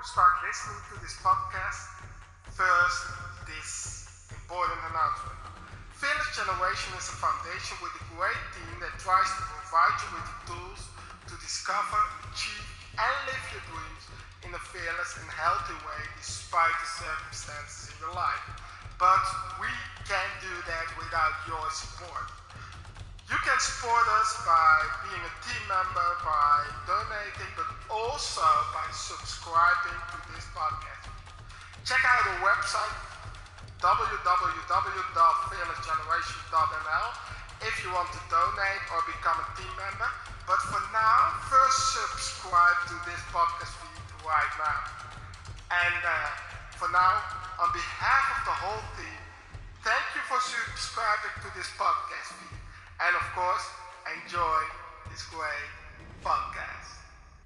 start listening to this podcast, first, this important announcement. Fearless Generation is a foundation with a great team that tries to provide you with the tools to discover, achieve, and live your dreams in a fearless and healthy way despite the circumstances in your life. But we can't do that without your support. You can support us by being a team member, by donating, but also by subscribing to this podcast. Check out our website www.fearlessgeneration.nl if you want to donate or become a team member. But for now, first subscribe to this podcast feed right now. And for now, on behalf of the whole team, thank you for subscribing to this podcast feed. And of course, enjoy this great podcast.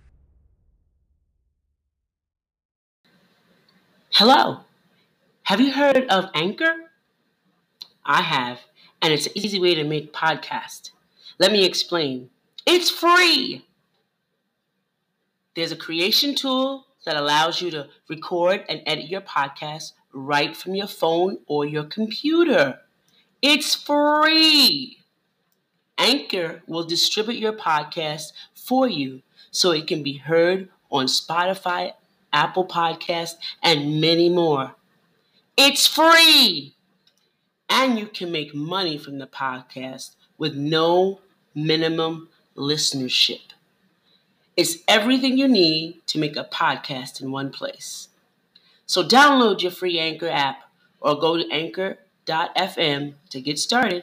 Hello. Have you heard of Anchor? I have, and it's an easy way to make podcasts. Let me explain. It's free. There's a creation tool that allows you to record and edit your podcast right from your phone or your computer. It's free. Anchor will distribute your podcast for you so it can be heard on Spotify, Apple Podcasts, and many more. It's free! And you can make money from the podcast with no minimum listenership. It's everything you need to make a podcast in one place. So download your free Anchor app or go to anchor.fm to get started.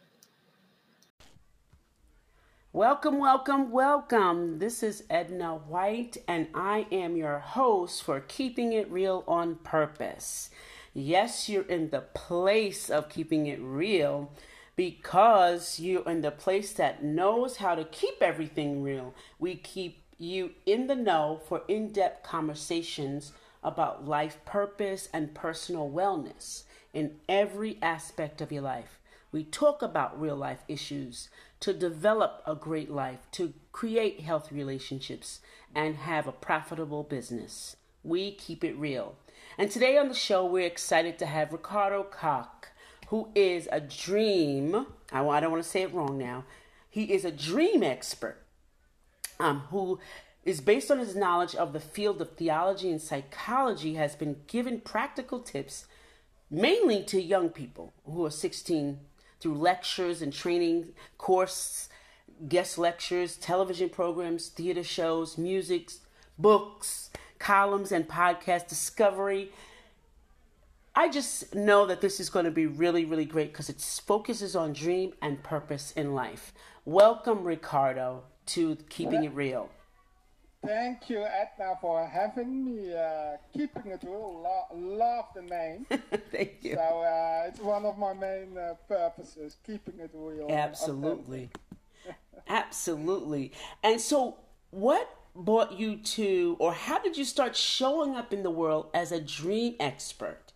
Welcome. This is Edna White, and I am your host for Keeping It Real on Purpose. Yes, you're in the place of keeping it real because you're in the place that knows how to keep everything real. We keep you in the know for in-depth conversations about life purpose and personal wellness in every aspect of your life. We talk about real life issues to develop a great life, to create healthy relationships, and have a profitable business. We keep it real. And today on the show, we're excited to have Ricardo Koch, who is a dream, I don't want to say it wrong now, he is a dream expert who is based on his knowledge of the field of theology and psychology, has been given practical tips mainly to young people who are 16 through lectures and training courses, guest lectures, television programs, theater shows, music, books, columns, and podcast discovery. I just know that this is going to be really, really great because it focuses on dream and purpose in life. Welcome, Ricardo, to Keeping It Real. Thank you, Edna, for having me. Keeping It Real, love the name. Thank you. So it's one of my main purposes, keeping it real. Absolutely. Absolutely. And so what brought you to, or how did you start showing up in the world as a dream expert?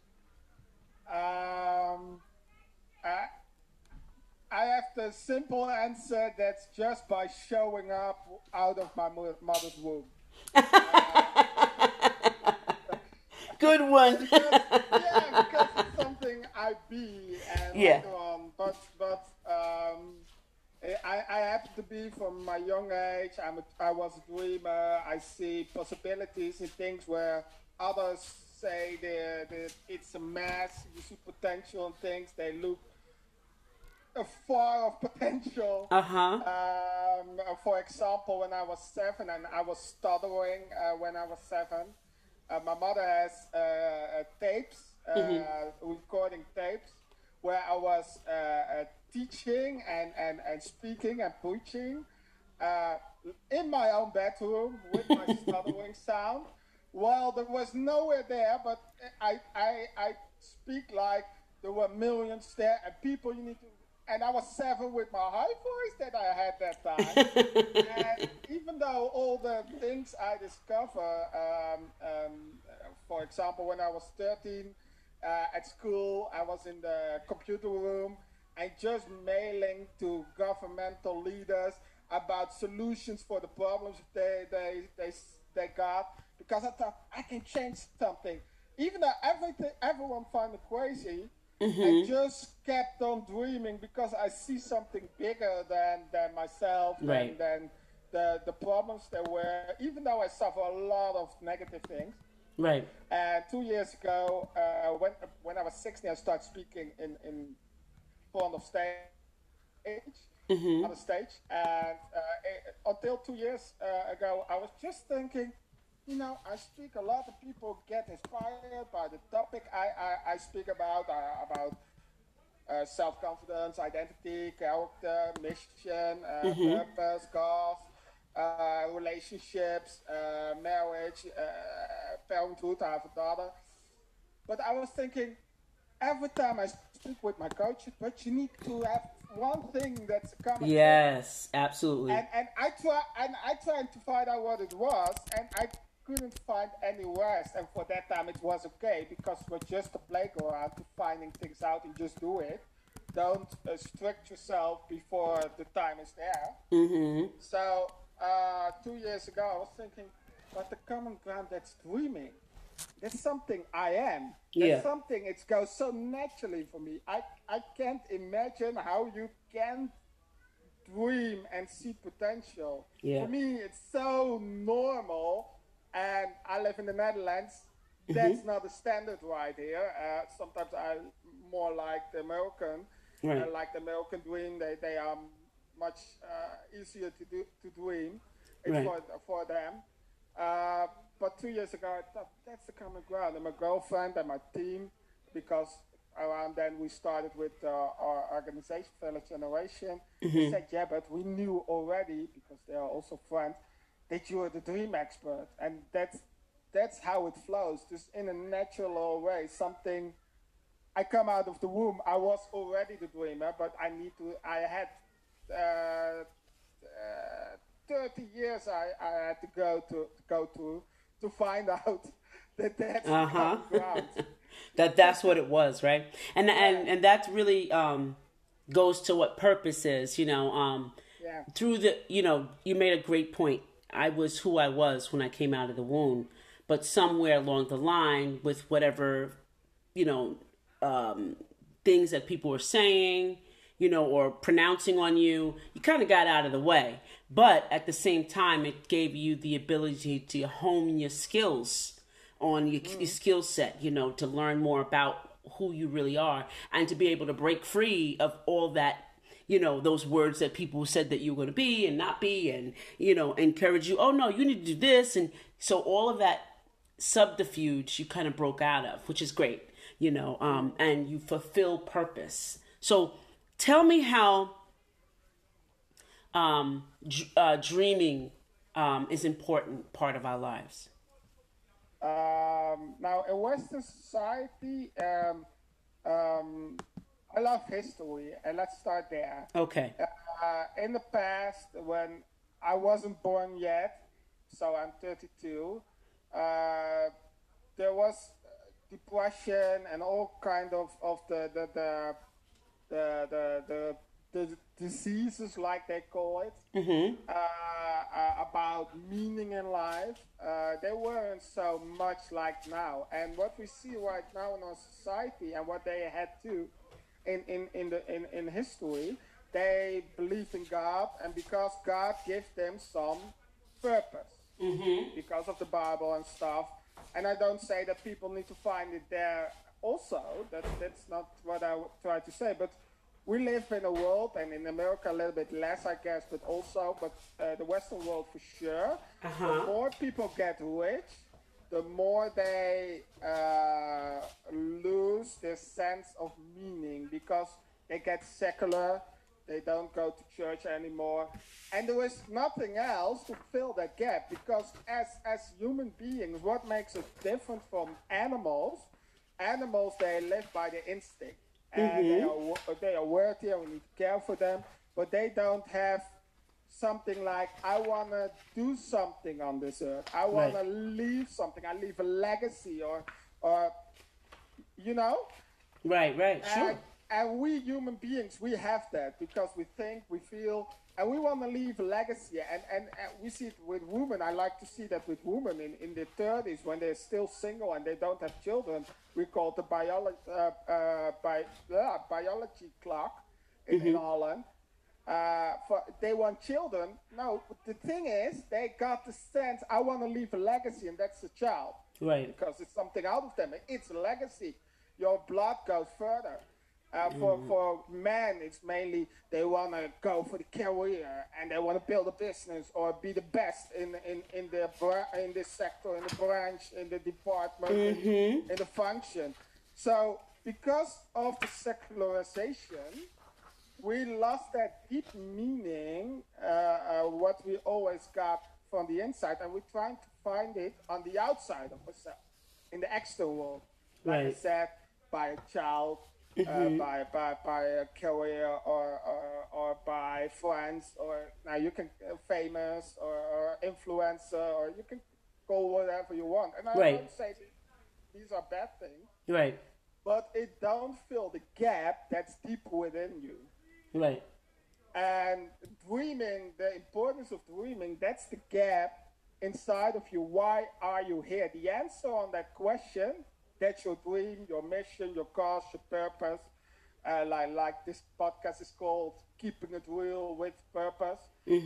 I have the simple answer. That's just by showing up out of my mother's womb. Good one. because it's something I be and later on. But I happen to be from my young age. I was a dreamer. I see possibilities in things where others say it's a mess. You see potential in things. They look far of potential. For example, when I was 7 and I was stuttering when I was 7, my mother has tapes, recording tapes, where I was teaching and speaking and preaching in my own bedroom with my stuttering sound. Well, there was nowhere there, but I speak like there were millions there and people you need to. And I was 7 with my high voice that I had that time. And even though all the things I discover, for example, when I was 13 at school, I was in the computer room and just mailing to governmental leaders about solutions for the problems they got, because I thought I can change something. Even though everyone found it crazy, I just kept on dreaming because I see something bigger than myself, Right. than the problems there were, even though I suffer a lot of negative things. Right. And 2 years ago, when I was 16, I started speaking in front of stage, on the stage. And until 2 years ago, I was just thinking, I speak, a lot of people get inspired by the topic I speak about self-confidence, identity, character, mission, purpose, goals, relationships, marriage, parenthood. I have a daughter. But I was thinking, every time I speak with my coach, but you need to have one thing that's a common thing. Yes, absolutely. And I tried to find out what it was, and I couldn't find any rest. And for that time, it was okay, because we're just a playground to finding things out and just do it. Don't strict yourself before the time is there. So 2 years ago, I was thinking, but the common ground, that's dreaming. That's something I am. That's something, it goes so naturally for me. I can't imagine how you can dream and see potential. Yeah. For me, it's so normal. And I live in the Netherlands. That's not a standard right here. Sometimes I more like the American. Right. Like the American dream. They are much easier to dream. It's Right. for them. But 2 years ago, I thought that's the common ground. And my girlfriend and my team, because around then we started with our organization, Fellow Generation. They said, yeah, but we knew already, because they are also friends, that you are the dream expert. And that's how it flows, just in a natural way. Something, I come out of the womb, I was already the dreamer, but I had 30 years I had to go to find out that that's the common ground. That's what it was, right? And that really goes to what purpose is, through the, you made a great point. I was who I was when I came out of the womb, but somewhere along the line, with whatever, things that people were saying, or pronouncing on you, you kind of got out of the way. But at the same time, it gave you the ability to hone your skills on your skill set, to learn more about who you really are, and to be able to break free of all that, those words that people said that you were going to be and not be, and, encourage you, oh no, you need to do this. And so all of that subterfuge you kind of broke out of, which is great, and you fulfill purpose. So tell me how dreaming is an important part of our lives. Now, in Western society, I love history, and let's start there. Okay. In the past, when I wasn't born yet, so I'm 32, there was depression and all kind of the diseases, like they call it, about meaning in life. They weren't so much like now. And what we see right now in our society, and what they had to in history, they believed in God, and because God gave them some purpose, because of the Bible and stuff. And I don't say that people need to find it there also. That's not what I try to say. But we live in a world, and in America a little bit less, I guess, but the Western world for sure. The more people get rich, the more they lose their sense of meaning, because they get secular, they don't go to church anymore, and there is nothing else to fill that gap. Because as human beings, what makes us different from animals? Animals, they live by their instinct, and they are worthy, and we need to care for them, but they don't have something like, I want to do something on this earth. I want to leave something. I leave a legacy, or Right, sure. And we human beings, we have that, because we think, we feel, and we want to leave a legacy. And we see it with women. I like to see that with women in their 30s, when they're still single and they don't have children. We call it the biology clock in Holland. They want children. No, the thing is, they got the sense, I want to leave a legacy, and that's the child. Right. Because it's something out of them. It's a legacy. Your blood goes further. For men, it's mainly they want to go for the career and they want to build a business or be the best in this sector, in the branch, in the department, in the function. So because of the secularization, we lost that deep meaning, what we always got from the inside, and we're trying to find it on the outside of ourselves, in the external world. Like I said, by a child, by a career, or by friends, or now you can famous or influencer, or you can go whatever you want. And I don't say these are bad things. Right. But it don't fill the gap that's deep within you. Right. And dreaming, the importance of dreaming, that's the gap inside of you. Why are you here? The answer on that question, that's your dream, your mission, your cause, your purpose. Like this podcast is called Keeping It Real with Purpose.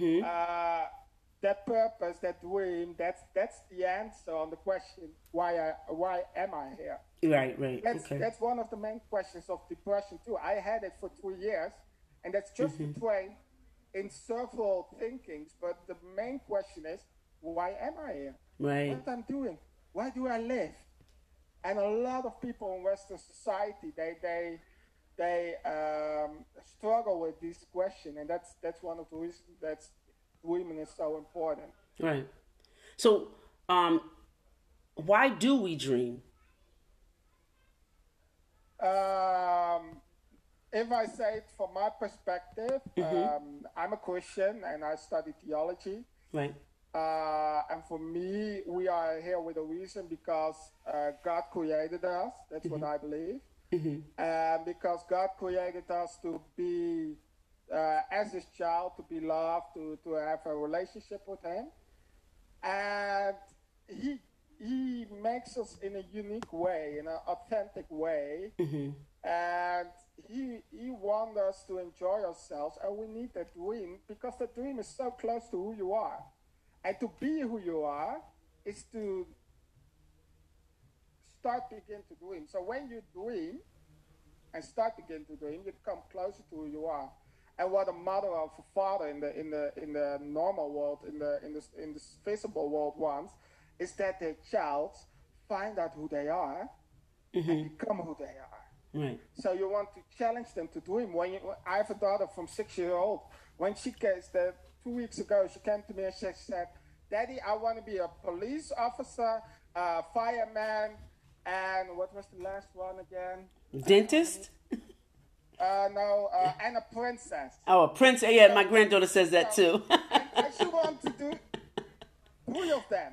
That purpose, that dream, that's the answer on the question, why am I here? Right. That's one of the main questions of depression too. I had it for 2 years, and that's just to train in several thinkings. But the main question is, why am I here? Right. What I'm doing? Why do I live? And a lot of people in Western society, they struggle with this question, and that's one of the reasons that dreaming is so important. Right. So, why do we dream? If I say it from my perspective, I'm a Christian and I study theology. Right. And for me, we are here with a reason, because God created us. That's what I believe. And because God created us to be, as His child, to be loved, to have a relationship with Him. And He makes us in a unique way, in an authentic way. And he wants us to enjoy ourselves, and we need that dream, because that dream is so close to who you are. And to be who you are is to begin to dream. So when you dream and begin to dream, you come closer to who you are. And what a mother or a father in the normal world, in this visible world wants, is that their child find out who they are and become who they are. Right. So you want to challenge them to dream. I have a daughter from 6 years old. When she came 2 weeks ago, she came to me and she said, "Daddy, I want to be a police officer, a fireman, and what was the last one again? Dentist? And a princess." Oh, a princess. Yeah, my granddaughter says that too. and she wants to do 3 of them.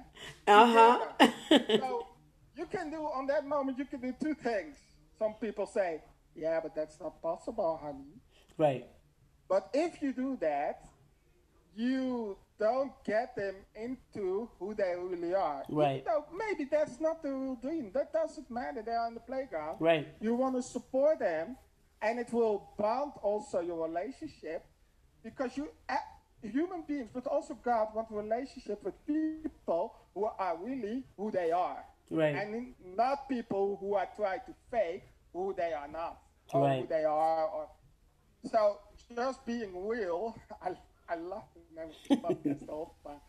So you can do, on that moment, you can do 2 things. Some people say, "Yeah, but that's not possible, honey." Right. But if you do that, you don't get them into who they really are. Right. Even though maybe that's not the real dream. That doesn't matter. They're on the playground. Right. You want to support them, and it will bond also your relationship, because human beings, but also God, want a relationship with people who are really who they are. Right. And not people who are trying to fake who they are not, or right. who they are. So just being real, I love the podcast the whole time.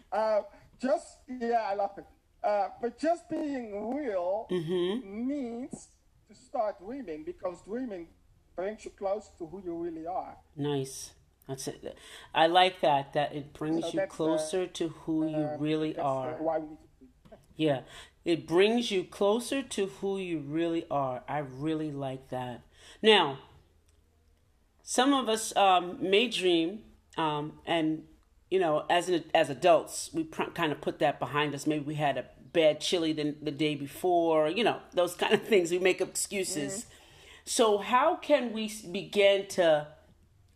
I love it. But just being real means to start dreaming, because dreaming brings you close to who you really are. Nice. That's it. I like that it brings you closer to who you really are. Why we need to dream. Yeah. It brings you closer to who you really are. I really like that. Now, some of us may dream, and as adults, we kind of put that behind us. Maybe we had a bad chili the day before. Those kind of things. We make up excuses. So how can we begin to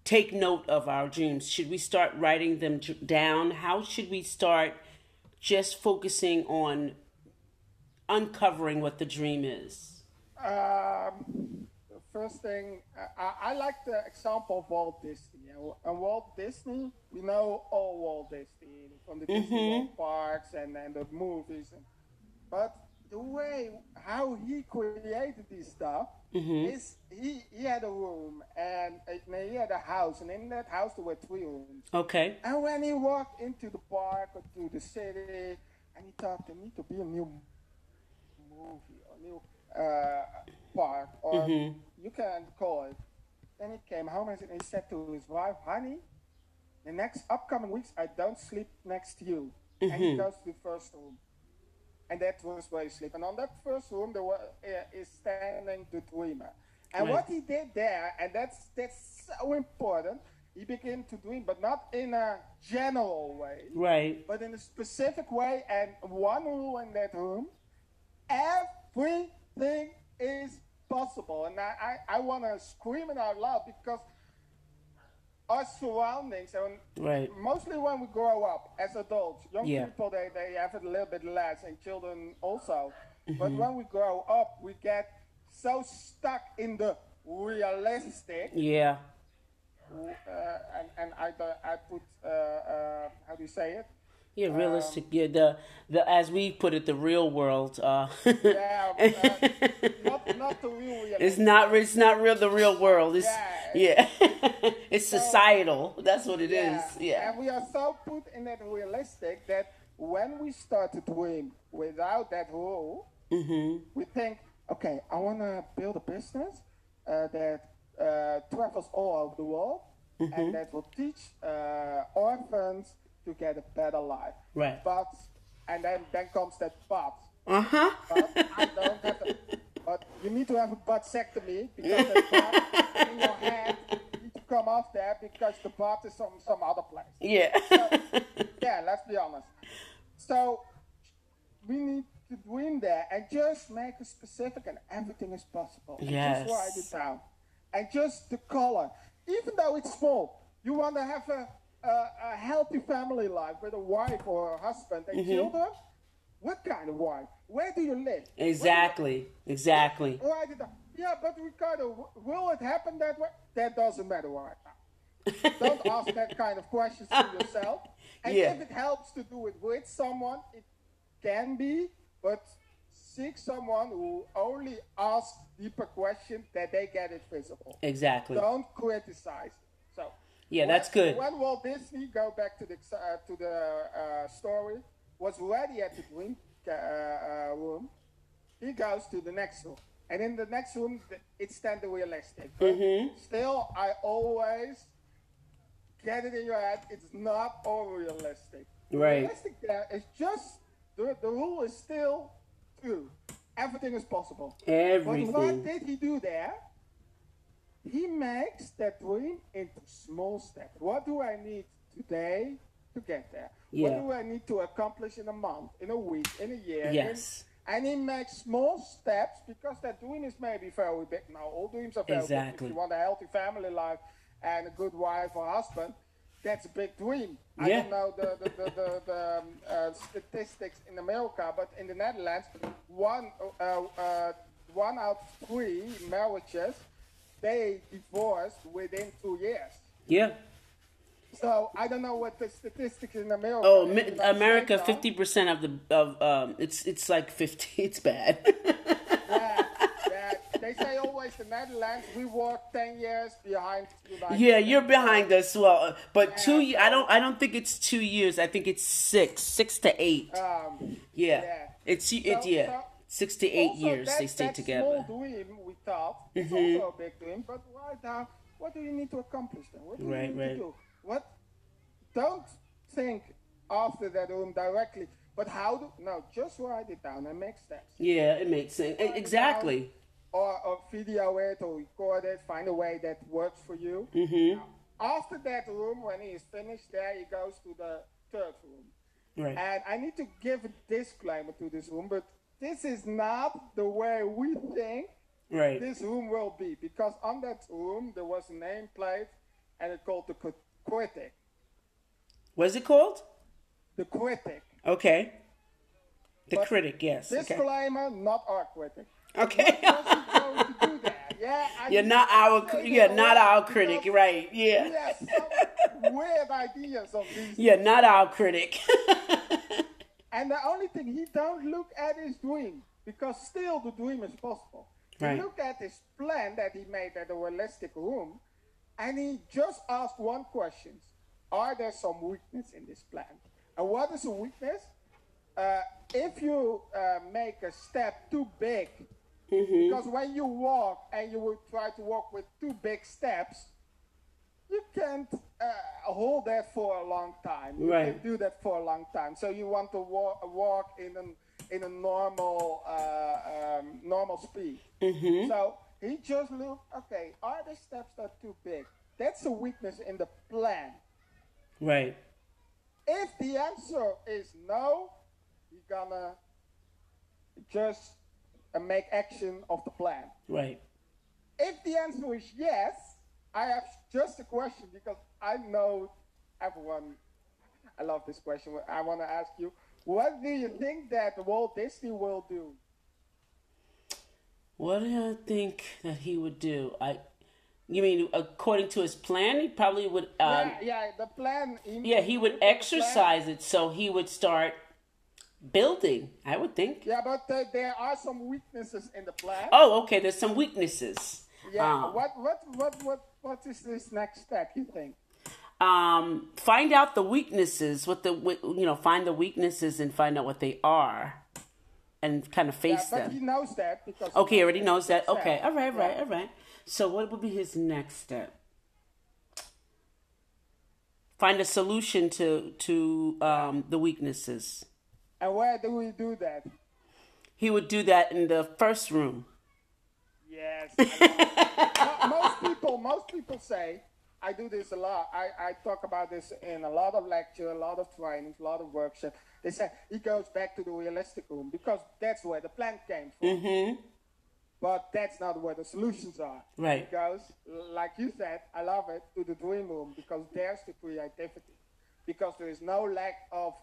take note of our dreams? Should we start writing them down? How should we start just focusing on uncovering what the dream is? The first thing, I like the example of Walt Disney. And Walt Disney, we know all Walt Disney from the Disney World parks and the movies. But the way how he created this stuff is he had a room and he had a house, and in that house there were 3 rooms. Okay. And when he walked into the park or to the city, and he thought there need to be a new movie or new park, or you can call it. Then he came home and he said to his wife, "Honey, the next upcoming weeks I don't sleep next to you." And he goes to the first room. And that was where he slept. And on that first room, there is standing the dreamer. And what he did there, and that's so important, he began to dream, but not in a general way. Right. But in a specific way. And one rule in that room, everything is possible. And I want to scream it out loud, because our surroundings, and mostly when we grow up as adults, young people, they have it a little bit less, and children also. But when we grow up, we get so stuck in the realistic. Yeah. And I put, how do you say it? Yeah, realistic. Yeah, the as we put it, the real world. Not the real reality. It's not real. The real world. It's it's societal. That's what it is. Yeah. And we are so put in that realistic that when we start to dream without that rule, we think, okay, I want to build a business that travels all over the world, and that will teach orphans to get a better life. Right. But, and then comes that but. Uh huh. But I don't have a, but you need to have a buttectomy, because the butt in your hand needs to come off there, because the butt is from some other place. Yeah. So, yeah, let's be honest. So we need to dream there and just make it specific, and everything is possible. And yes. Just write it down. And just the color. Even though it's small, you want to have a healthy family life with a wife or a husband and children. What kind of wife? Where do you live? Exactly. Exactly. Write it down. Yeah, but Ricardo, will it happen that way? That doesn't matter right now. Don't ask that kind of questions to yourself. And if it helps to do it with someone, it can be, but seek someone who only asks deeper questions that they get it visible. Exactly. Don't criticize. So yeah, that's good. When Walt Disney, go back to the story, was ready at the dream room, he goes to the next room. And in the next room, it's then the realistic. Still, I always get it in your head, it's not all realistic. Right. Realistic there is just, the rule is still true. Everything is possible. Everything. But what did he do there? He makes that dream into small steps. What do I need today to get there? Yeah. What do I need to accomplish in a month, in a week, in a year? Yes. And he makes small steps, because that dream is maybe very big. Now, all dreams are very big. If you want a healthy family life and a good wife or husband, that's a big dream. I don't know the statistics in America, but in the Netherlands, one out of 3 marriages, they divorced within 2 years. Yeah. So I don't know what the statistics in America. Oh, America, 50% of it's like 50. It's bad. They say always the Netherlands. We walk 10 years behind. Yeah, you're behind us. Well, but 2 years. I don't think it's 2 years. I think it's 6 to 8. It's 6 to 8 years they stay together. Small dream we thought it's also a big dream, but right now, what do you need to accomplish then? What do you need to do? What? Don't think after that room directly, but just write it down and make steps. Yeah, it makes sense. Exactly. Or video it or record it. Find a way that works for you. Now, after that room, when he is finished there, he goes to the third room. Right. And I need to give a disclaimer to this room, but this is not the way we think this room will be. Because on that room, there was a nameplate, and it's called the critic. What is it called? The critic. Okay. The But critic, yes. Disclaimer, not our critic. Okay. What was he going to do that? Yeah, You're not our critic, right? Yeah. He has some weird ideas of these. You're not our critic. And the only thing he don't look at is dream, because still the dream is possible. Right. He looked at his plan that he made at the realistic room, and he just asked one question: are there some weakness in this plan? And what is a weakness? If you make a step too big, because when you walk and you would try to walk with two big steps, you can't hold that for a long time. You Right. can do that for a long time. So you want to walk in a normal normal speed. So he just looked. Okay, are the steps not too big? That's a weakness in the plan. Right. If the answer is no, you're gonna just make action of the plan. Right. If the answer is yes, I have just a question, because I know everyone. I love this question. I want to ask you, what do you think that Walt Disney will do? What do I think that he would do? You mean according to his plan? He probably would. The plan. He would exercise it, so he would start building. I would think. Yeah, but there are some weaknesses in the plan. Oh, okay. There's some weaknesses. Yeah. What is this next step, you think? Find out the weaknesses. Find the weaknesses and find out what they are, and kind of face But them. he knows that because. Okay, he already knows that. step. Okay, all right. Yeah. So what would be his next step? Find a solution to the weaknesses. And where do we do that? He would do that in the first room. Yes. Most people say, I do this a lot. I talk about this in a lot of lectures, a lot of trainings, a lot of workshops. They say he goes back to the realistic room because that's where the plan came from. But that's not where the solutions are. Right. Because, like you said, I love it, to the dream room, because there's the creativity. Because there is no lack of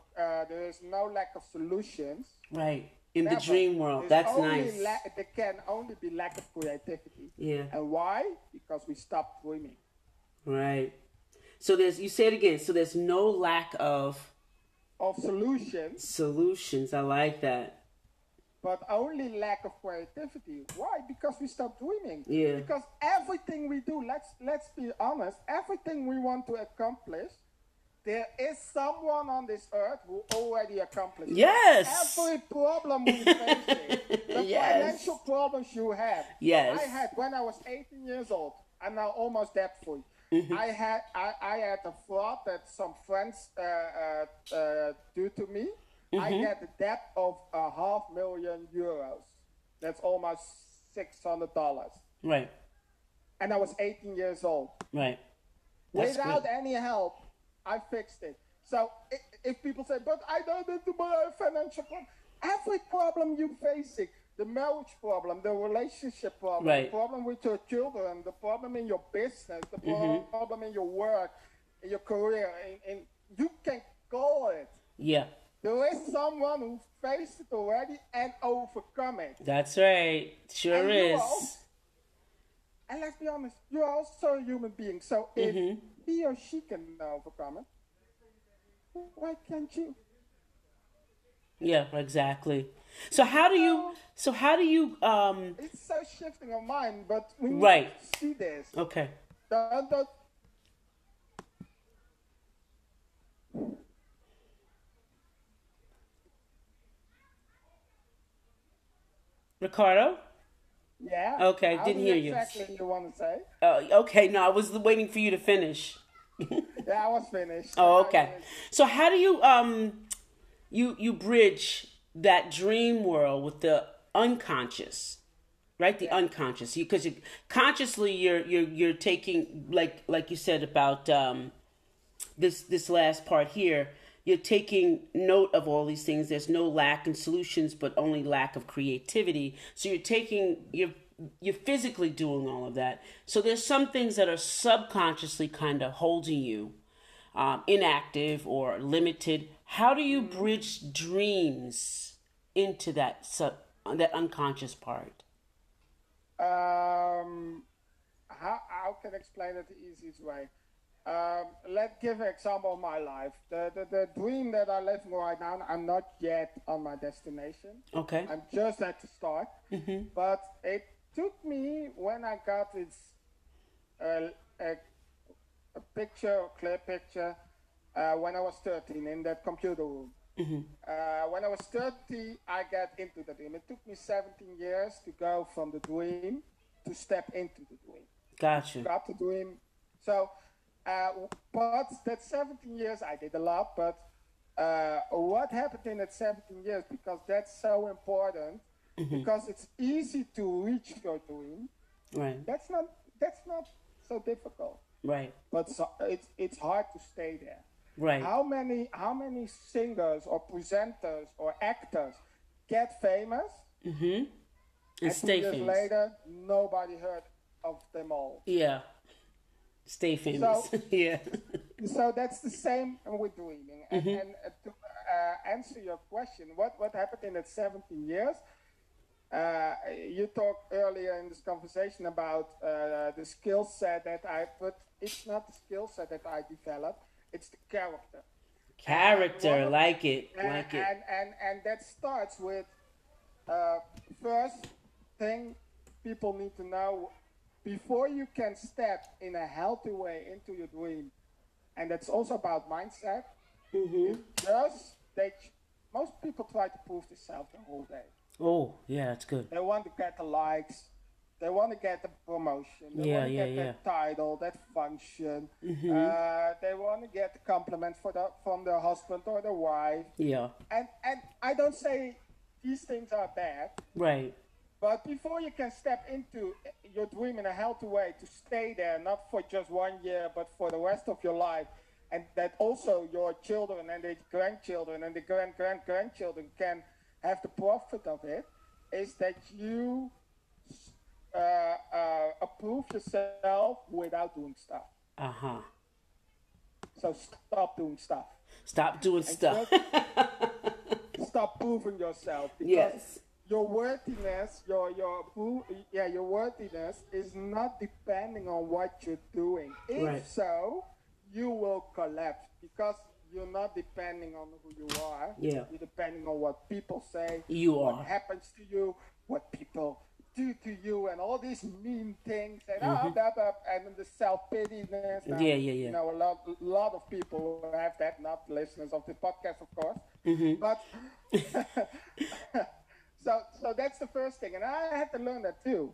solutions. Right. In Never. the dream world. There's That's only nice. there can only be lack of creativity. Yeah. And why? Because we stopped dreaming. Right. So you say it again. So there's no lack of solutions, I like that. but only lack of creativity. Why? Because we stopped dreaming. Yeah. Because everything we do, let's be honest, everything we want to accomplish, there is someone on this earth who already accomplished it. Yes. Every problem we face, the Yes. financial problems you have. Yes. I had when I was 18 years old. I'm now almost debt free. I had a fraud that some friends do to me. I had a debt of €500,000. That's almost $600. Right. And I was 18 years old. Right. That's Without good. any help, I fixed it. So if people say, but I don't need to buy a financial problem. Every problem you're facing, the marriage problem, the relationship problem, Right. the problem with your children, the problem in your business, the problem in your work, in your career, and you can call it. Yeah. There is someone who faced it already and overcome it. That's right. Sure And is. And let's be honest, you're also a human being. So if he or she can overcome it, why can't you? Yeah, exactly. So how do you It's so shifting of mind, but we need Right. to see this. Okay. Don't- Ricardo? Yeah. Okay, How didn't do hear you. Exactly, you want to say? Okay, no, I was waiting for you to finish. Yeah, I was finished. Oh, okay. So how do you you bridge that dream world with the unconscious, right? The unconscious, because consciously you're taking like you said about this last part here. You're taking note of all these things. There's no lack in solutions, but only lack of creativity. So you're you're physically doing all of that. So there's some things that are subconsciously kind of holding you inactive or limited. How do you bridge dreams into that unconscious part? How can I explain it the easiest way? Let's give an example of my life. The dream that I'm living right now, I'm not yet on my destination. Okay. I'm just at the start. But it took me when I got this a picture, a clear picture, when I was 13 in that computer room. When I was 30, I got into the dream. It took me 17 years to go from the dream to step into the dream. Gotcha. Got the dream. So, but that 17 years, I did a lot. But what happened in that 17 years? Because that's so important. Because it's easy to reach your dream. Right. That's not so difficult. Right. But it's hard to stay there. Right. How many singers or presenters or actors get famous? And 2 stay years famous. later, nobody heard of them all. Yeah. Stay famous. So, yeah. So that's the same with dreaming. And to answer your question, what happened in that 17 years? You talked earlier in this conversation about the skill set that I put. It's not the skill set that I developed. It's the character. Character, like it. And that starts with first thing people need to know before you can step in a healthy way into your dream, and that's also about mindset. Most people try to prove themselves the whole day. Oh, yeah, that's good. They want to get the likes. They want to get the promotion. They want to get that title, that function. They want to get the compliment from their husband or their wife. Yeah. And I don't say these things are bad. Right. But before you can step into your dream in a healthy way to stay there, not for just 1 year, but for the rest of your life, and that also your children and the grandchildren and the grandchildren can have the profit of it, is that you approve yourself without doing stuff. So stop doing stuff. Stop doing stuff. Stop proving yourself. Because yes. Your worthiness, your worthiness is not depending on what you're doing. If so, you will collapse because you're not depending on who you are. Yeah. You're depending on what people say. What happens to you, what people do to you, and all these mean things, and and the self-pityness. You know, a lot of people have that, not listeners of the podcast, of course. But so that's the first thing, and I had to learn that too.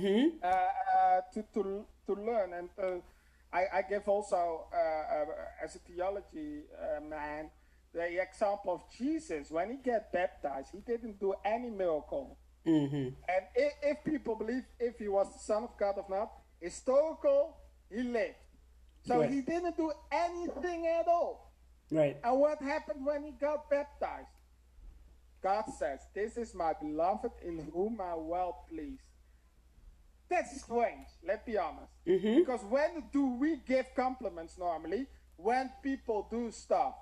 To learn, and I give also as a theology man the example of Jesus. When he got baptized, he didn't do any miracle. And if people believe if he was the Son of God or not, historical, he lived. So he didn't do anything at all. Right. And what happened when he got baptized? God says, "This is my beloved in whom I well pleased." That's strange, let's be honest. Because when do we give compliments normally? When people do stuff.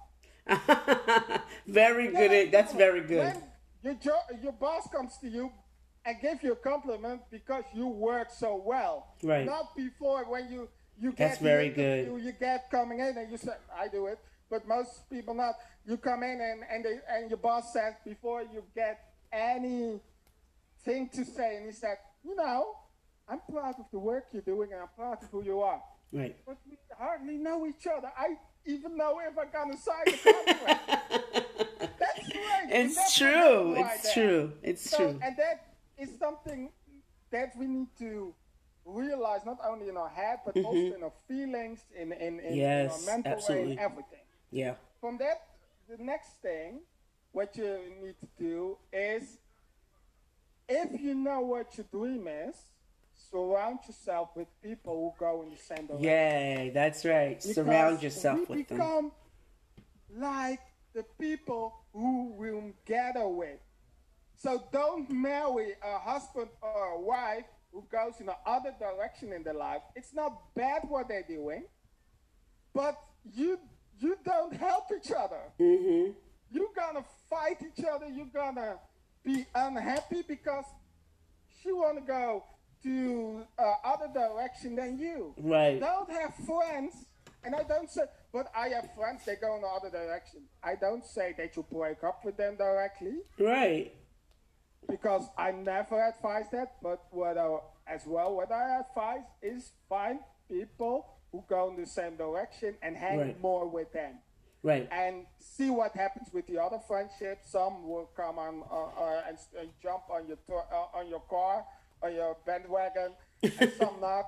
Very good. That's very good. When your boss comes to you and gives you a compliment because you work so well. Right. Not before when you get That's very good. You get coming in and you say, I do it. But most people not. You come in and your boss says before you get anything to say, and he said, you know, I'm proud of the work you're doing and I'm proud of who you are. Right. But we hardly know each other. I even know if I'm gonna sign the contract. That's right. It's true. It's true. It's true. And that is something that we need to realize, not only in our head, but also in our feelings, in our mental way, and everything. Yeah. From that, the next thing, what you need to do is, if you know what your dream is, surround yourself with people who go in the same direction. Yeah, that's right. Because surround yourself with them. Become like the people who will gather with. So don't marry a husband or a wife who goes in the other direction in their life, it's not bad what they're doing, but you don't help each other. Mm-hmm. You're gonna fight each other. You're gonna be unhappy because she want to go to other direction than you. Right. Don't have friends, and I don't say, but I have friends, they go in the other direction. I don't say that you break up with them directly. Right. Because I never advise that, but what I advise is find people who go in the same direction and hang more with them. Right. And see what happens with the other friendships. Some will come on and jump on your car or your bandwagon, and some not.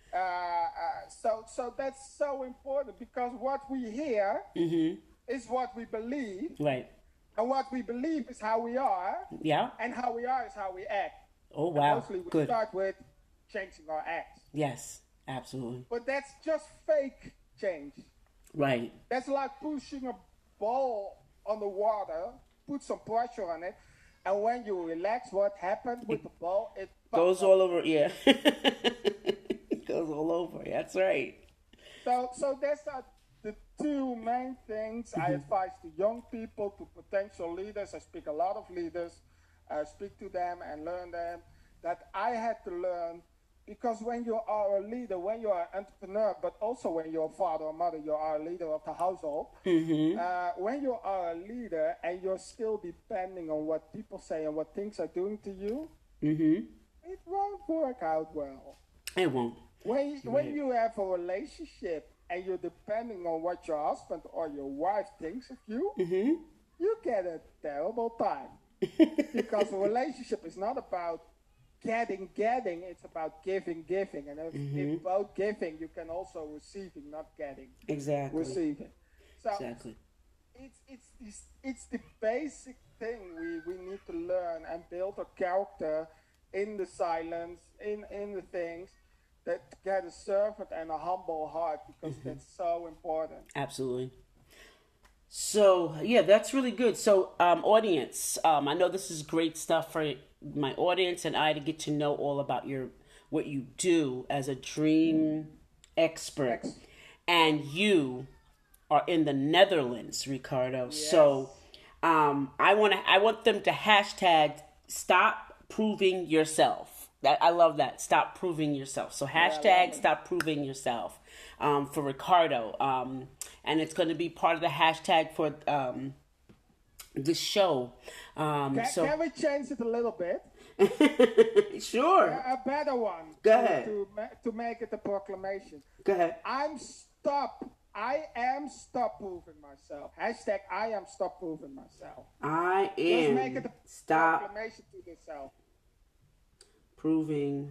So that's so important because what we hear is what we believe. Right. And what we believe is how we are. Yeah. And how we are is how we act. Oh, wow. And mostly we Good. start with changing our acts. Yes, absolutely. But that's just fake change. Right. That's like pushing a ball on the water, put some pressure on it, and when you relax, what happens with the ball? It goes all over, yeah. It goes all over, that's right. So that's the two main things I advise to young people, to potential leaders. I speak a lot of leaders. I speak to them and learn them that I had to learn. Because when you are a leader, when you are an entrepreneur, but also when you're a father or mother, you are a leader of the household. When you are a leader and you're still depending on what people say and what things are doing to you, it won't work out well. It won't. When you have a relationship and you're depending on what your husband or your wife thinks of you, you get a terrible time. Because a relationship is not about getting, it's about giving. And if both giving, you can also receiving, not getting. Exactly. Receiving. So exactly. It's the basic thing we need to learn and build a character in the silence, in the things, that get a servant and a humble heart, because that's so important. Absolutely. So, yeah, that's really good. So, audience, I know this is great stuff for my audience and I to get to know all about what you do as a dream expert. And you are in the Netherlands, Ricardo. Yes. So, I want them to hashtag stop proving yourself. I love that. Stop proving yourself. So hashtag stop proving yourself for Ricardo. And it's going to be part of the hashtag for this show. Can we change it a little bit? Sure. A better one. Go ahead. To make it a proclamation. Go ahead. I am stop proving myself. Hashtag I am stop proving myself. I am. Let's make it a proclamation to yourself. Proving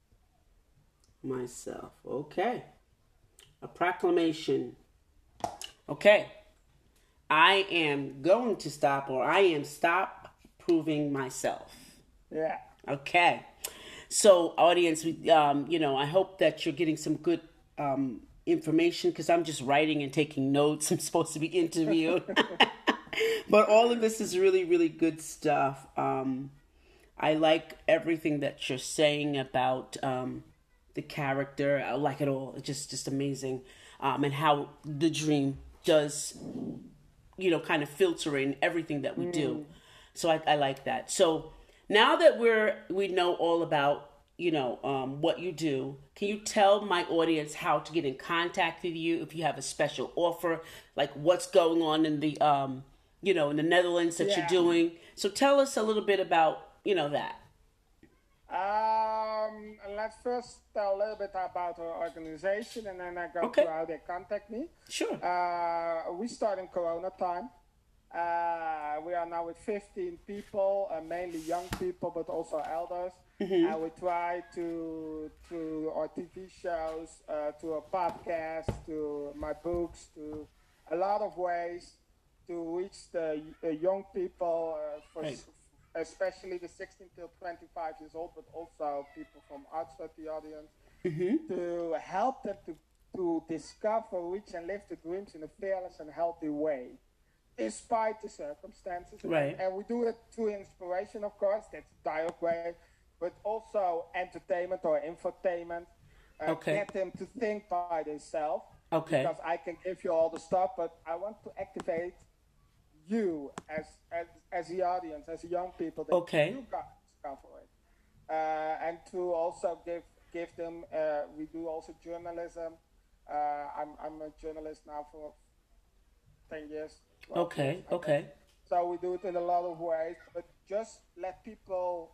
myself. Okay. A proclamation. Okay. I am going to stop, or I am stop proving myself. Yeah. Okay. So, audience, I hope that you're getting some good information, because I'm just writing and taking notes. I'm supposed to be interviewed. But all of this is really, really good stuff. I like everything that you're saying about the character. I like it all. It's just amazing. And how the dream does, kind of filter in everything that we do. So I like that. So now that we know all about, what you do, can you tell my audience how to get in contact with you if you have a special offer, like what's going on in the, in the Netherlands that you're doing? So tell us a little bit about that. Let's first tell a little bit about our organization, and then I go to how they contact me. Sure. We start in Corona time. We are now with 15 people, mainly young people, but also elders. And we try to our TV shows, to a podcast, to my books, to a lot of ways to reach the young people, especially the 16 till 25 years old, but also people from outside the audience, to help them to discover, reach, and live the dreams in a fearless and healthy way, despite the circumstances. Right. And we do it through inspiration, of course. That's a direct way. but also entertainment or infotainment. Okay. Get them to think by themselves. Okay. Because I can give you all the stuff, but I want to activate you as the audience, as the young people that you guys cover it, and to also give them. We do also journalism. I'm a journalist now for 10 years. Okay. Okay. So we do it in a lot of ways, but just let people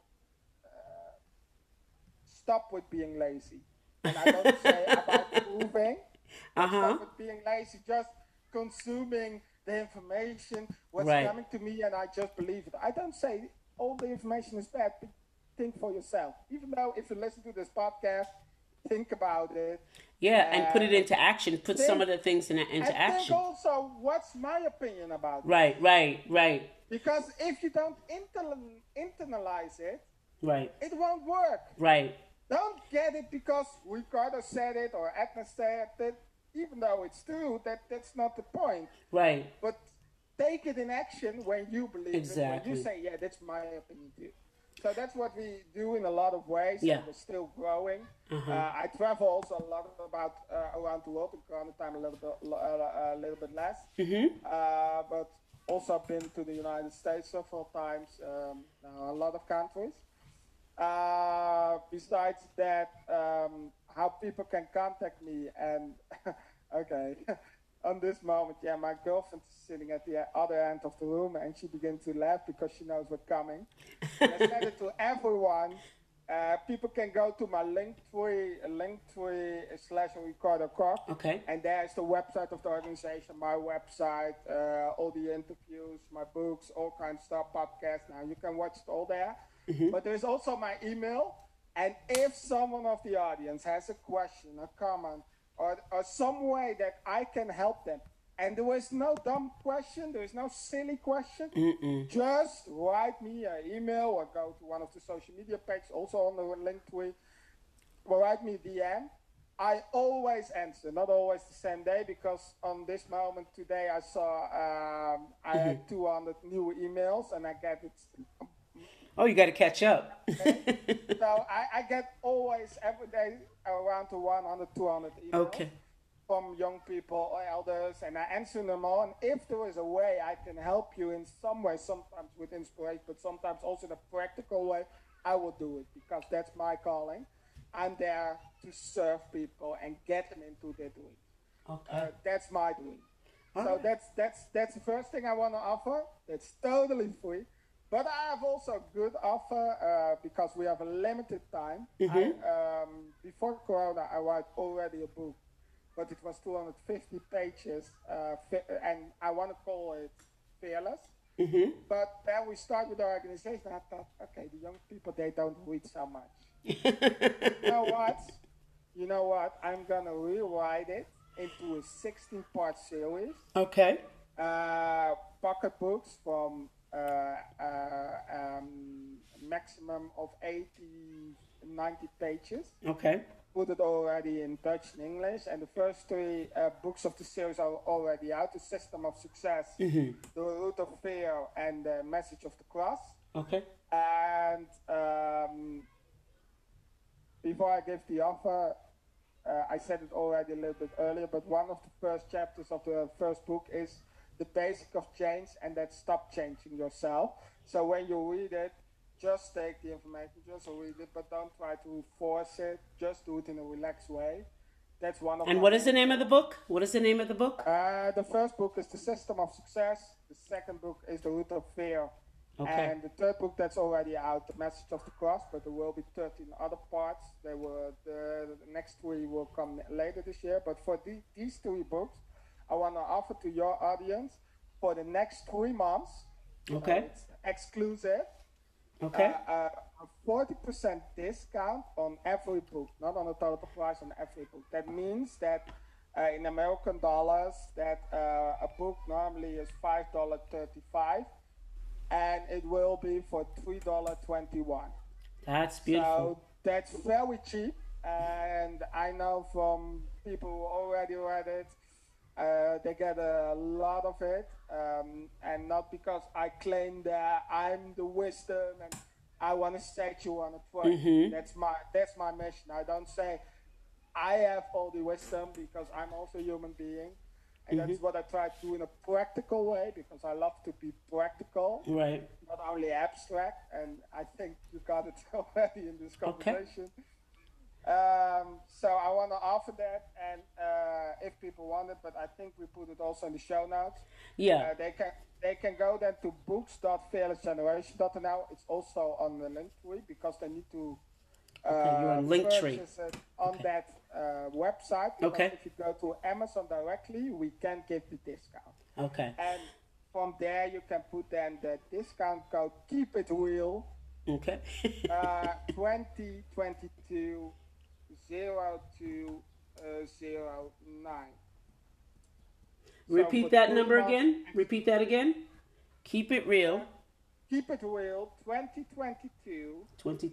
stop with being lazy. And I don't say about proving. Stop with being lazy. Just consuming the information, what's coming to me, and I just believe it. I don't say all the information is bad, but think for yourself. Even though if you listen to this podcast, think about it. Yeah, and put it into action. Put some of the things into action. Think also, what's my opinion about it? Right. Because if you don't internalize it, it won't work. Right. Don't get it because Ricardo said it or Edna said it. Even though it's true, that's not the point. Right. But take it in action when you believe it. When you say, yeah, that's my opinion too. So that's what we do in a lot of ways. Yeah. And we're still growing. I travel also a lot about around the world. In Corona time, a little bit less. But also been to the United States several times. A lot of countries. Besides that, how people can contact me and okay, on this moment, yeah, my girlfriend is sitting at the other end of the room and she begins to laugh because she knows what's coming. And I said it to everyone. People can go to my Linktree/Ricardo Koch. Okay. And there's the website of the organization, my website, all the interviews, my books, all kinds of stuff, podcasts. Now you can watch it all there. But there's also my email. And if someone of the audience has a question, a comment, or some way that I can help them, and there is no dumb question, there is no silly question, just write me an email or go to one of the social media pages, also on the Linktree, or write me a DM. I always answer, not always the same day, because on this moment today I saw I had 200 new emails, and I get it. Oh, you got to catch up. So I get always every day around to 100, 200 emails from young people or elders, and I answer them all. And if there is a way I can help you in some way, sometimes with inspiration, but sometimes also in a practical way, I will do it because that's my calling. I'm there to serve people and get them into their dream. Okay. That's my dream. So that's the first thing I want to offer. That's totally free. But I have also a good offer because we have a limited time. Before Corona, I wrote already a book, but it was 250 pages, and I want to call it Fearless. But then we start with the organization. I thought, okay, the young people, they don't read so much. You know what? I'm going to rewrite it into a 16-part series. Okay. Pocket books from maximum of 80, 90 pages. Okay. Put it already in Dutch and English. And the first 3 books of the series are already out. The System of Success, The Root of Fear, and The Message of the Cross. Okay. And before I give the offer, I said it already a little bit earlier, but one of the first chapters of the first book is the basic of change, and that's stop changing yourself. So when you read it, just take the information, just read it, but don't try to force it. Just do it in a relaxed way. That's one of. And what is the name of the book? What is the name of the book? The first book is The System of Success. The second book is The Root of Fear. Okay. And the third book that's already out, The Message of the Cross, but there will be 13 other parts. The next 3 will come later this year. But for these 3 books, I want to offer to your audience for the next 3 months. Okay. It's exclusive. Okay. A 40% discount on every book, not on the total price, on every book. That means that in American dollars, that a book normally is $5.35, and it will be for $3.21. That's beautiful. So that's very cheap, and I know from people who already read it, they get a lot of it, and not because I claim that I'm the wisdom, and I want to set you on a track. That's my mission. I don't say I have all the wisdom because I'm also a human being. And that's what I try to do in a practical way because I love to be practical, Right. not only abstract. And I think you got it already in this conversation. So I want to offer that, and if people want it, but I think we put it also in the show notes. Yeah. They can go then to books.fearlessgeneration.nl. It's also on the Linktree because they need to You're on Linktree. purchase it on that website. Because if you go to Amazon directly, we can give the discount. Okay. And from there, you can put then the discount code Keep It Real. Okay. 2022 0209. Repeat that number again. Repeat that again. Keep it real. Keep It Real 2022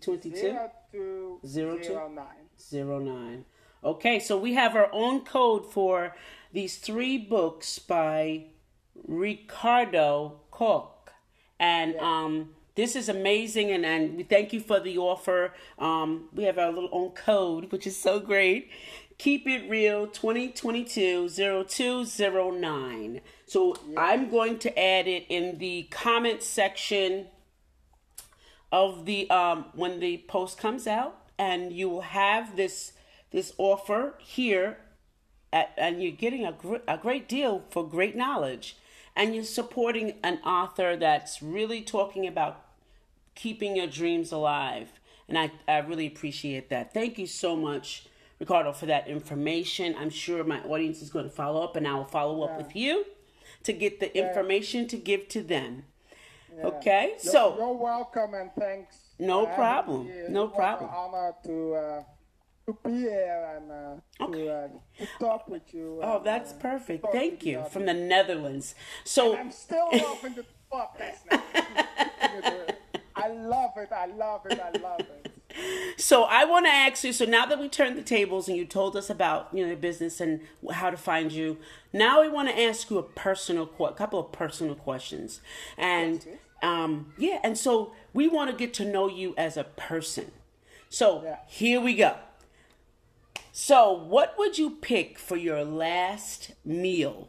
0209. Okay, so we have our own code for these 3 books by Ricardo Koch. And this is amazing, and we thank you for the offer. We have our little own code, which is so great. Keep It Real 2022 0209. So I'm going to add it in the comment section of the when the post comes out, and you will have this offer here, and you're getting a great deal for great knowledge. And you're supporting an author that's really talking about keeping your dreams alive. And I really appreciate that. Thank you so much, Ricardo, for that information. I'm sure my audience is going to follow up, and I will follow up with you to get the information to give to them. Yeah. Okay? You're welcome, and thanks. No problem. No problem. It's an honor to be here and to talk with you. Oh, that's perfect. Thank you. From the Netherlands. So and I'm still loving the podcast now. I love it. So I want to ask you, so now that we turned the tables and you told us about, your business and how to find you, now we want to ask you a couple of personal questions. And and so we want to get to know you as a person. So here we go. So what would you pick for your last meal?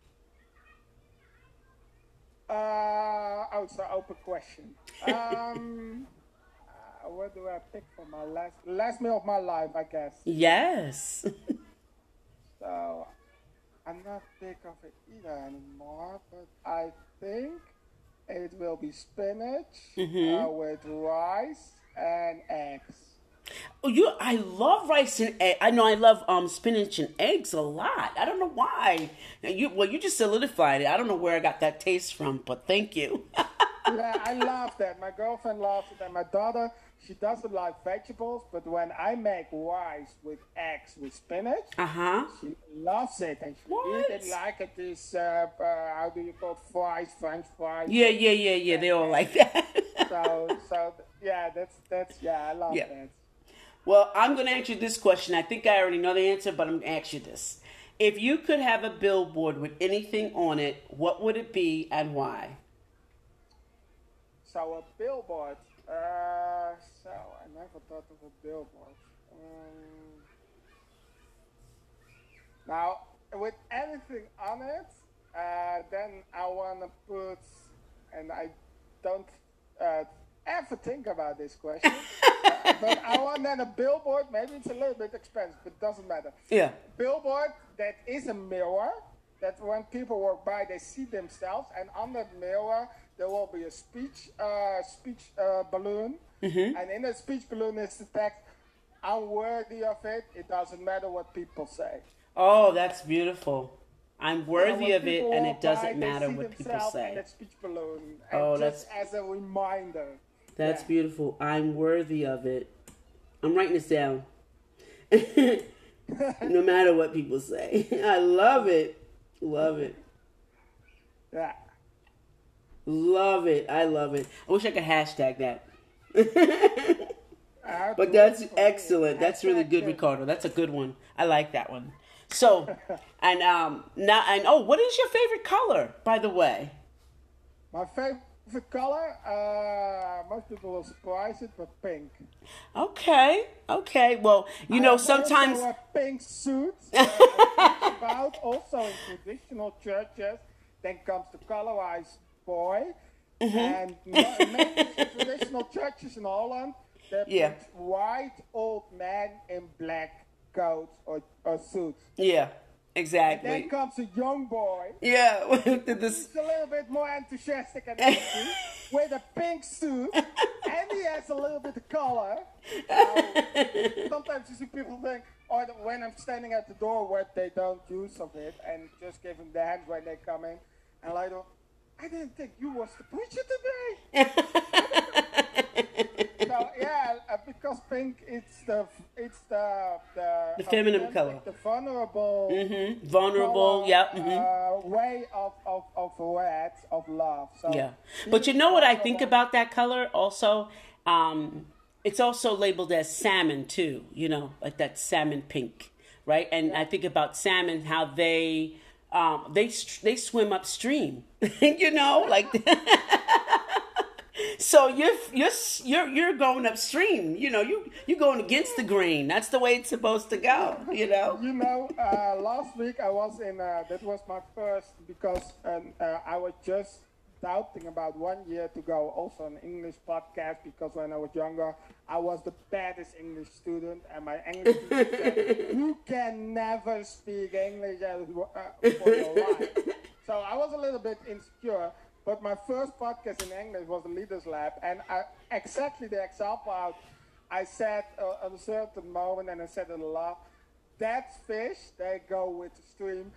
It's an open question. What do I pick for my last meal of my life, I guess? Yes. So, I'm not big of it either anymore, but I think it will be spinach with rice and eggs. Oh, I love rice and egg. I know I love spinach and eggs a lot. I don't know why. You just solidified it. I don't know where I got that taste from, but thank you. Yeah, I love that. My girlfriend loves it, and my daughter, she doesn't like vegetables, but when I make rice with eggs with spinach, she loves it, and she didn't like it. This how do you call it? French fries. Yeah. They all like that. so that's I love that. Well, I'm going to ask you this question. I think I already know the answer, but I'm going to ask you this. If you could have a billboard with anything on it, what would it be and why? So a billboard. I never thought of a billboard. Now, with anything on it, then I want to put, and I don't ever think about this question, but I want then a billboard. Maybe it's a little bit expensive, but it doesn't matter. Yeah. Billboard that is a mirror, that when people walk by, they see themselves, and on that mirror, there will be a speech balloon, and in the speech balloon is the text, "I'm worthy of it. It doesn't matter what people say." Oh, that's beautiful. I'm worthy of it, and it doesn't matter what people say. In that speech balloon, and just as a reminder. That's beautiful. I'm worthy of it. I'm writing this down. No matter what people say. I love it. Love it. Yeah. Love it. I love it. I wish I could hashtag that. But that's excellent. That's really good, Ricardo. That's a good one. I like that one. So, what is your favorite color, by the way? My favorite The color, most people will surprise it, but pink. Okay. Okay. Well, you I know, have sometimes. also a pink suit. I think about also in traditional churches. Then comes the colorized boy, and many traditional churches in Holland they Yeah. put white old men in black coats or suits. Yeah. And Exactly. then comes a young boy. Yeah. He's a little bit more enthusiastic and happy with a pink suit, and he has a little bit of color. Sometimes you see people think, or when I'm standing at the door, what they don't use of it, and just giving the hand when they come in, and later, I didn't think you was the preacher today. So yeah, because pink, it's the The feminine authentic, color. the vulnerable. Vulnerable. Color, Yeah. way of red, of love. So Yeah. But you know what I think about that color also? It's also labeled as salmon too, you know, like that salmon pink, right? And I think about salmon, how they swim upstream, you know, like so you're going upstream, you know, you're going against the grain. That's the way it's supposed to go, you know. You know, last week I was in. That was my first because I was just doubting about 1 year to go. Also an English podcast because when I was younger, I was the baddest English student, and my English teacher said, "You can never speak English for your life." So I was a little bit insecure. But my first podcast in English was the Leaders Lab, and exactly the example out. I said at a certain moment, and I said it a lot. That fish, they go with the stream.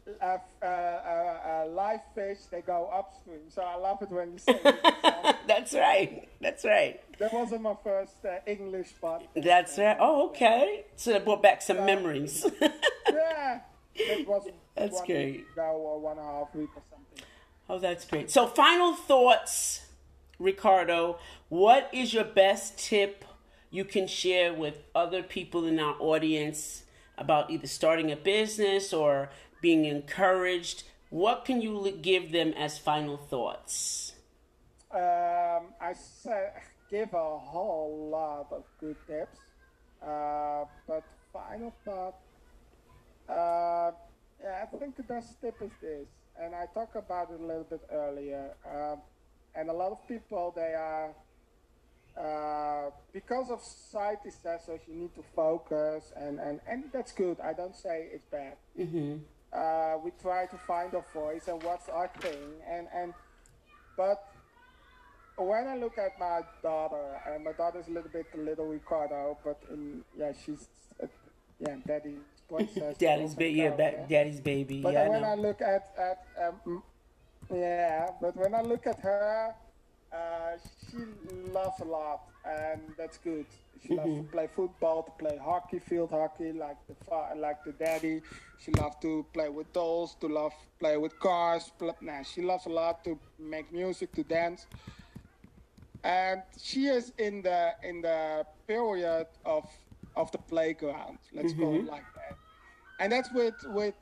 Live fish, they go upstream. So I love it when you say it. That's right. That's right. That wasn't my first English podcast. That's right. Oh, okay. So that brought back some memories. Yeah, it was That's 1 great. week ago or 1.5 weeks or something. Oh, that's great. So, final thoughts, Ricardo. What is your best tip you can share with other people in our audience about either starting a business or being encouraged? What can you give them as final thoughts? I give a whole lot of good tips, but final thought. Yeah, I think the best tip is this, and I talked about it a little bit earlier. And a lot of people, they are, because of society says so, you need to focus, and that's good. I don't say it's bad. We try to find our voice and what's our thing, but when I look at my daughter, and my daughter's a little bit the little Ricardo, but she's daddy's princess. Daddy's baby, daddy's baby. But yeah, when I look but when I look at her, she loves a lot, and that's good. She loves to play football, to play hockey, field hockey, like the daddy. She loves to play with dolls, to play with cars. She loves a lot to make music, to dance. And she is in the period of the playground. Let's call it like that. And that's with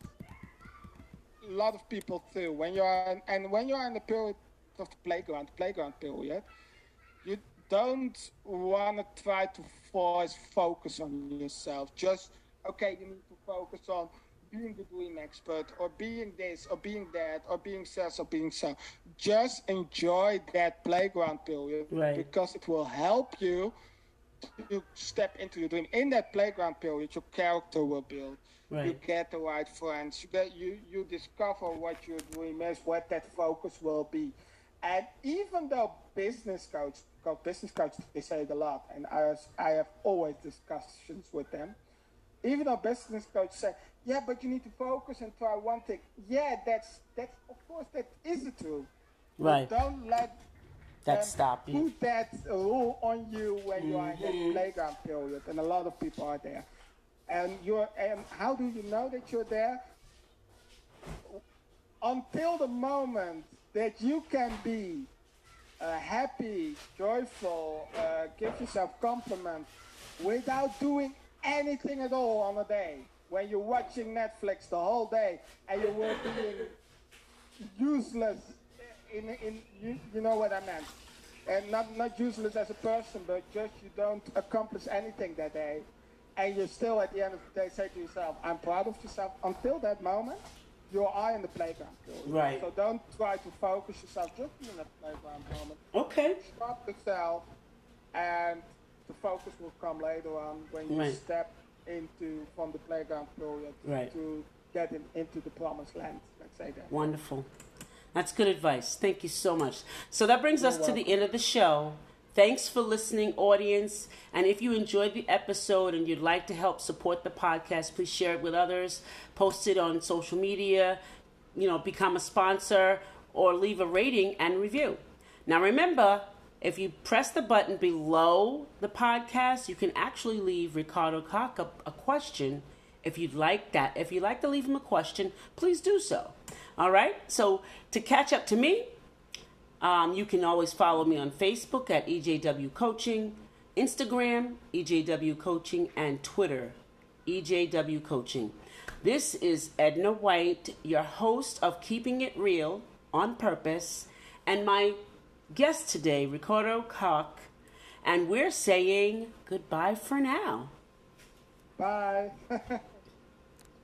a lot of people too. When you're in the period of the playground period, you don't want to try to force focus on yourself. Just okay, you need to focus on being the dream expert, or being this, or being that, or being sales, or being so. Just enjoy that playground period, right, because it will help you to step into your dream. In that playground period, your character will build. right. You get the right friends. You discover what your dream is, what that focus will be. And even though business coach, they say it a lot, and I have always discussions with them. Even though business coach say, yeah, but you need to focus and try one thing. Yeah, that's of course that is the truth. Right. But don't let that stop you. Put that rule on you when you are in that playground period, and a lot of people are there. And how do you know that you're there? Until the moment that you can be happy, joyful, give yourself compliments without doing anything at all on a day. When you're watching Netflix the whole day and you were being useless you know what I meant. And not useless as a person, but just you don't accomplish anything that day. And you still, at the end of the day, say to yourself, I'm proud of yourself. Until that moment, you are in the playground. Right. So don't try to focus yourself just in that playground moment. Okay. Stop yourself, and the focus will come later on when you step from the playground period to get into the promised land. Let's say that. Wonderful. That's good advice. Thank you so much. So that brings us to the end of the show. Thanks for listening, audience. And if you enjoyed the episode and you'd like to help support the podcast, please share it with others, post it on social media, become a sponsor, or leave a rating and review. Now remember, if you press the button below the podcast, you can actually leave Ricardo Koch a question if you'd like that. If you'd like to leave him a question, please do so. All right? So to catch up to me, you can always follow me on Facebook at EJW Coaching, Instagram, EJW Coaching, and Twitter, EJW Coaching. This is Edna White, your host of Keeping It Real on Purpose, and my guest today, Ricardo Koch, and we're saying goodbye for now. Bye.